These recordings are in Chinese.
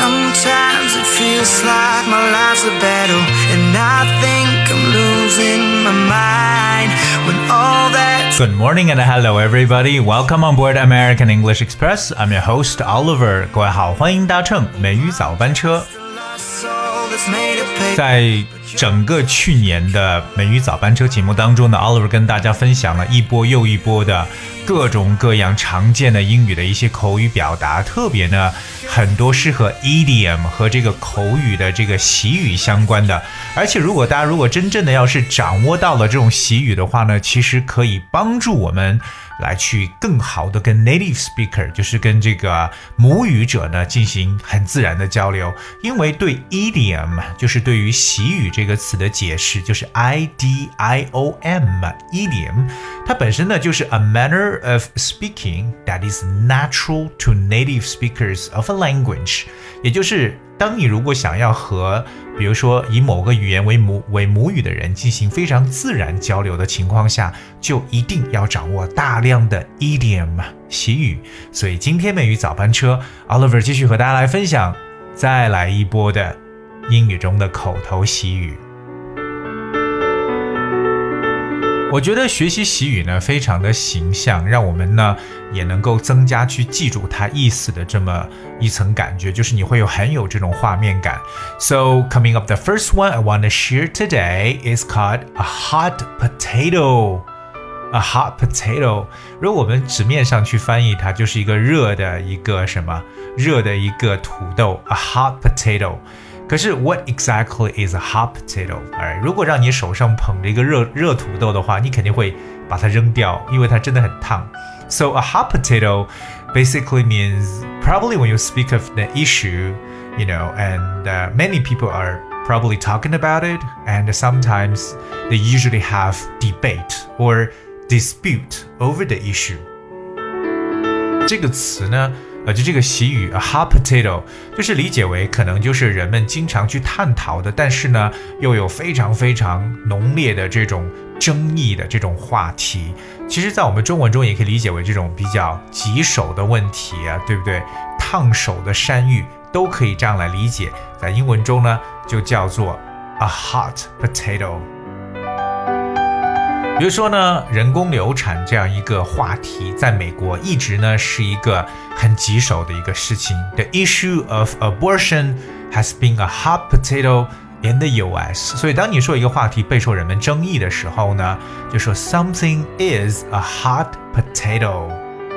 Sometimes it feels like my life's a battle, and I think I'm losing my mind when all that. Good morning and hello everybody. Welcome on board American English Express. I'm your host Oliver. 各位好，欢迎搭乘美语早班车。在整个去年的美语早班车节目当中呢 Oliver 跟大家分享了一波又一波的各种各样常见的英语的一些口语表达，特别呢很多是和 idiom 和这个口语的这个习语相关的，而且大家真正的要是掌握到了这种习语的话呢，其实可以帮助我们来去更好的跟 native speaker 就是跟这个母语者呢进行很自然的交流，因为对 idiom 就是对于习语这个词的解释就是 idiom idiom 它本身呢就是 a manner of speaking that is natural to native speakers of a language， 也就是当你如果想要和比如说以某个语言为母语的人进行非常自然交流的情况下，就一定要掌握大量的 idiom 习语。所以今天美语早班车 Oliver 继续和大家来分享再来一波的英语中的口头习语。我觉得学习习语呢非常的形象，让我们呢也能够增加去记住它意思的这么一层感觉，就是你会很有这种画面感。So coming up, the first one I want to share today is called a hot potato. A hot potato. 如果我们纸面上去翻译它，就是一个热的一个土豆 A hot potato.可是 what exactly is a hot potato? 如果让你手上捧着一个热土豆的话，你肯定会把它扔掉，因为它真的很烫。So a hot potato basically means probably when you speak of the issue, and many people are probably talking about it, and sometimes they usually have debate or dispute over the issue. 这个词呢就这个习语 a hot potato 就是理解为可能就是人们经常去探讨的，但是呢又有非常非常浓烈的这种争议的这种话题。其实在我们中文中也可以理解为这种比较棘手的问题啊，对不对？烫手的山芋都可以这样来理解，在英文中呢就叫做 a hot potato。比如说呢，人工流产这样一个话题，在美国一直呢是一个很棘手的一个事情。The issue of abortion has been a hot potato in the US. 所以当你说一个话题备受人们争议的时候呢，就说 something is a hot potato。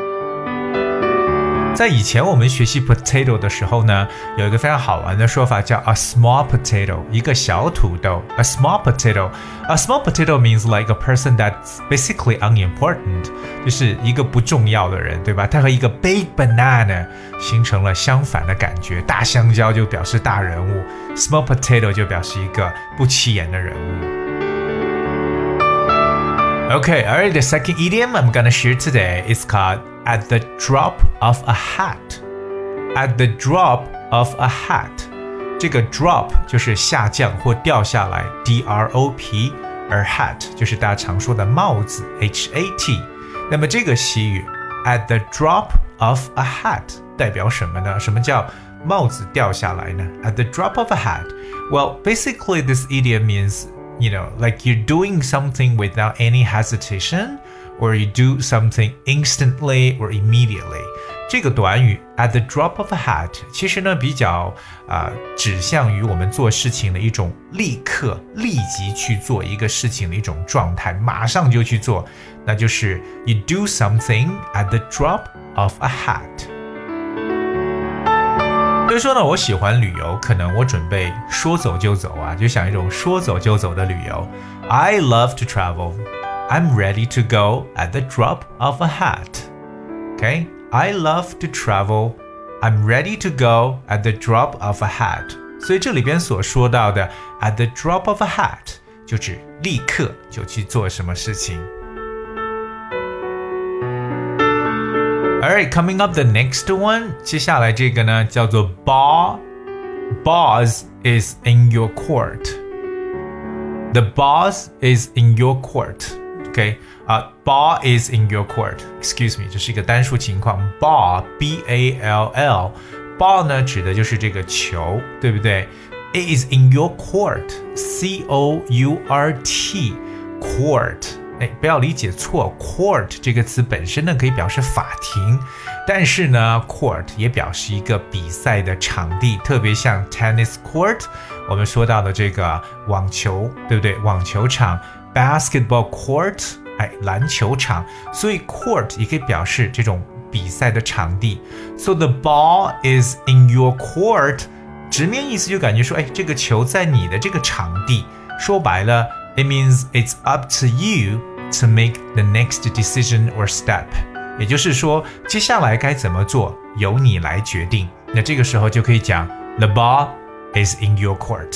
在以前我们学习 potato 的时候呢，有一个非常好玩的说法叫 a small potato， 一个小土豆 A small potato means like a person that's basically unimportant， 就是一个不重要的人，对吧？它和一个 big banana 形成了相反的感觉，大香蕉就表示大人物， small potato 就表示一个不起眼的人物。Okay, alright, the second idiom I'm gonna share today is called at the drop of a hat. At the drop of a hat. 这个 drop 就是下降或掉下来 D-R-O-P 而 hat 就是大家常说的帽子 H-A-T 那么这个习语 at the drop of a hat 代表什么呢？什么叫帽子掉下来呢？ At the drop of a hat. Well, basically this idiom means like you're doing something without any hesitation, or you do something instantly or immediately. 这个短语 at the drop of a hat 其实呢比较指向于我们做事情的一种立刻立即去做一个事情的一种状态，马上就去做，那就是 you do something at the drop of a hat。所以说呢，我喜欢旅游，可能我准备说走就走啊，就想一种说走就走的旅游。I love to travel. I'm ready to go at the drop of a hat. Okay? I love to travel. I'm ready to go at the drop of a hat. 所以这里边所说到的 at the drop of a hat 就指立刻就去做什么事情。Alright, coming up the next one. 接下来这个呢叫做 Boss is in your court. The boss is in your court. Okay, ball is in your court. Excuse me, 这是一个单数情况。Ball, B-A-L-L, ball 呢指的就是这个球，对不对？ It is in your court, C-O-U-R-T, court。不要理解错 court 这个词本身呢可以表示法庭，但是呢 court 也表示一个比赛的场地，特别像 tennis court 我们说到的这个网球，对不对？网球场 basketball court 篮球场，所以 court 也可以表示这种比赛的场地。 So the ball is in your court 直面意思就感觉说这个球在你的这个场地，说白了It means it's up to you to make the next decision or step. 也就是说，接下来该怎么做，由你来决定。那这个时候就可以讲 The ball is in your court.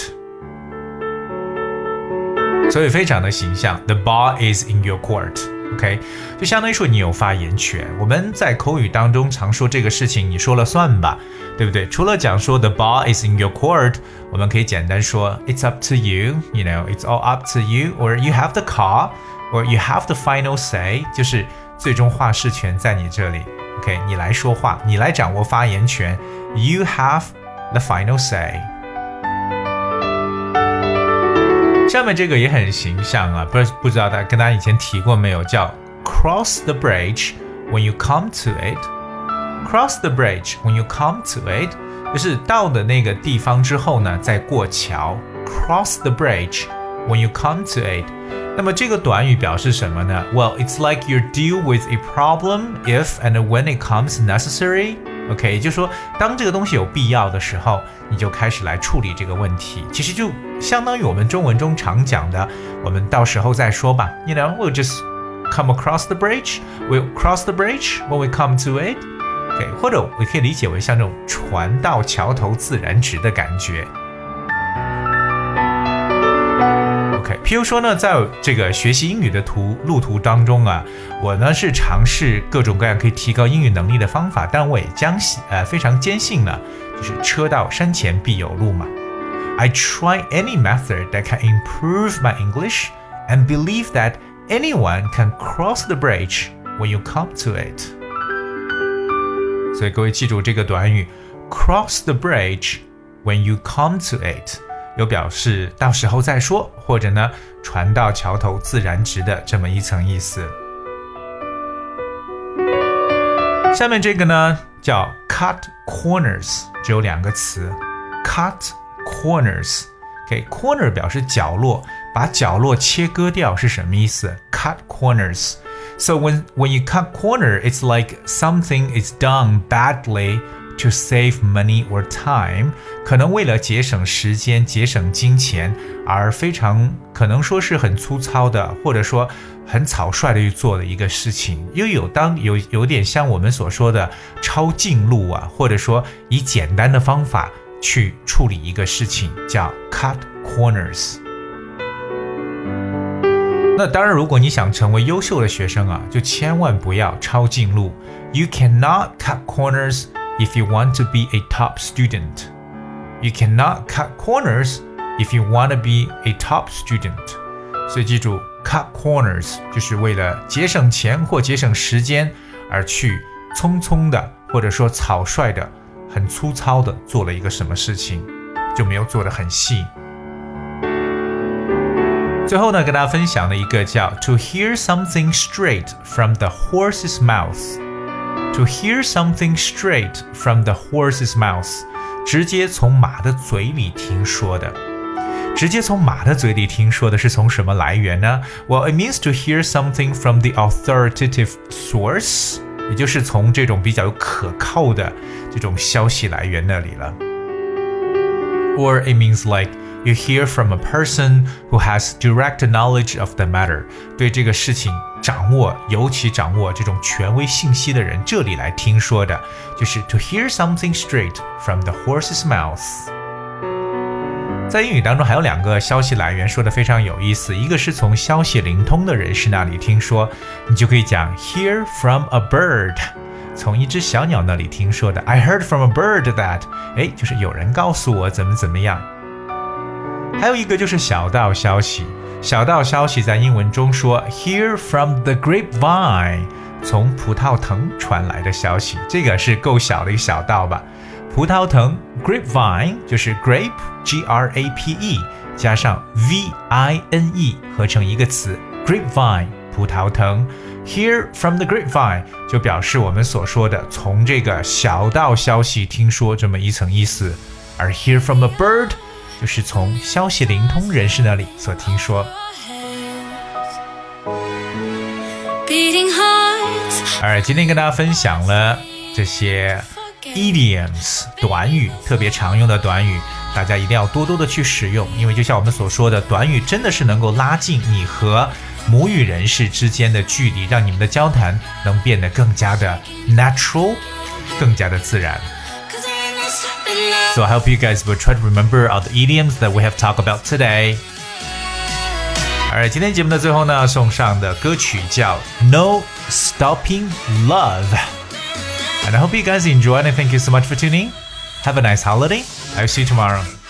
所以非常的形象 The ball is in your court.OK， 就相当于说你有发言权。我们在口语当中常说这个事情你说了算吧，对不对？除了讲说 the ball is in your court， 我们可以简单说 it's up to you, you know, it's all up to you, or you have the call, or you have the final say， 就是最终话事权在你这里。OK， 你来说话，你来掌握发言权 ，you have the final say。下面这个也很形象啊，不知道跟大家以前提过没有，叫 cross the bridge when you come to it。 cross the bridge when you come to it 就是到的那个地方之后呢再过桥， cross the bridge when you come to it。 那么这个短语表示什么呢？ Well, it's like you deal with a problem if and when it comes necessary。OK， 也就是说当这个东西有必要的时候，你就开始来处理这个问题，其实就相当于我们中文中常讲的，我们到时候再说吧。You know, we'll just come across the bridge. We'll cross the bridge when we come to it. OK， 或者我可以理解为像这种船到桥头自然直的感觉。OK， 譬如说呢，在这个学习英语的路途当中啊，我呢是尝试各种各样可以提高英语能力的方法，但我也非常坚信呢，就是车到山前必有路嘛。I try any method that can improve my English and believe that anyone can cross the bridge when you come to it. 所以各位记住这个短语 cross the bridge when you come to it， 有表示到时候再说，或者呢船到桥头自然直的这么一层意思。下面这个呢叫 cut corners， 只有两个词 cut corners。 OK， corner 表示角落，把角落切割掉是什么意思？ cut corners。 So when you cut corner, it's like something is done badly to save money or time， 可能为了节省时间节省金钱而非常可能说是很粗糙的，或者说很草率的去做的一个事情，又有点像我们所说的抄近路啊，或者说以简单的方法去处理一个事情，叫 cut corners。 那当然如果你想成为优秀的学生啊，就千万不要抄近路。 You cannot cut corners if you want to be a top student. You cannot cut corners if you want to be a top student. 所以记住 cut corners 就是为了节省钱或节省时间而去匆匆的或者说草率的很粗糙的做了一个什么事情，就没有做得很细。最后呢跟大家分享的一个叫 To hear something straight from the horse's mouth. To hear something straight from the horse's mouth， 直接从马的嘴里听说的。直接从马的嘴里听说的是从什么来源呢？ Well, it means to hear something from the authoritative source， 也就是从这种比较可靠的这种消息来源那里了。Or it means like you hear from a person who has direct knowledge of the matter， 对这个事情尤其掌握这种权威信息的人，这里来听说的，就是 to hear something straight from the horse's mouth。 在英语当中还有两个消息来源说的非常有意思，一个是从消息灵通的人士那里听说，你就可以讲 hear from a bird， 从一只小鸟那里听说的。 I heard from a bird that， 就是有人告诉我怎么样。还有一个就是小道消息，小道消息在英文中说 hear from the grapevine， 从葡萄藤传来的消息，这个是够小的一个小道吧。 葡萄藤 grapevine 就是 grape G-R-A-P-E 加上 V-I-N-E 合成一个词 grapevine 葡萄藤。Hear from the grapevine 就表示我们所说的从这个小道消息听说这么一层意思，而 hear from a bird 就是从消息灵通人士那里所听说。而今天跟大家分享了这些 idioms 短语，特别常用的短语，大家一定要多多的去使用，因为就像我们所说的，短语真的是能够拉近你和母语人士之间的距离，让你们的交谈能变得更加的 natural， 更加的自然。So I hope you guys will try to remember all the idioms that we have talked about today. 而今天节目的最后呢，送上的歌曲叫 No Stopping Love. And I hope you guys enjoyed and thank you so much for tuning. Have a nice holiday. I'll see you tomorrow.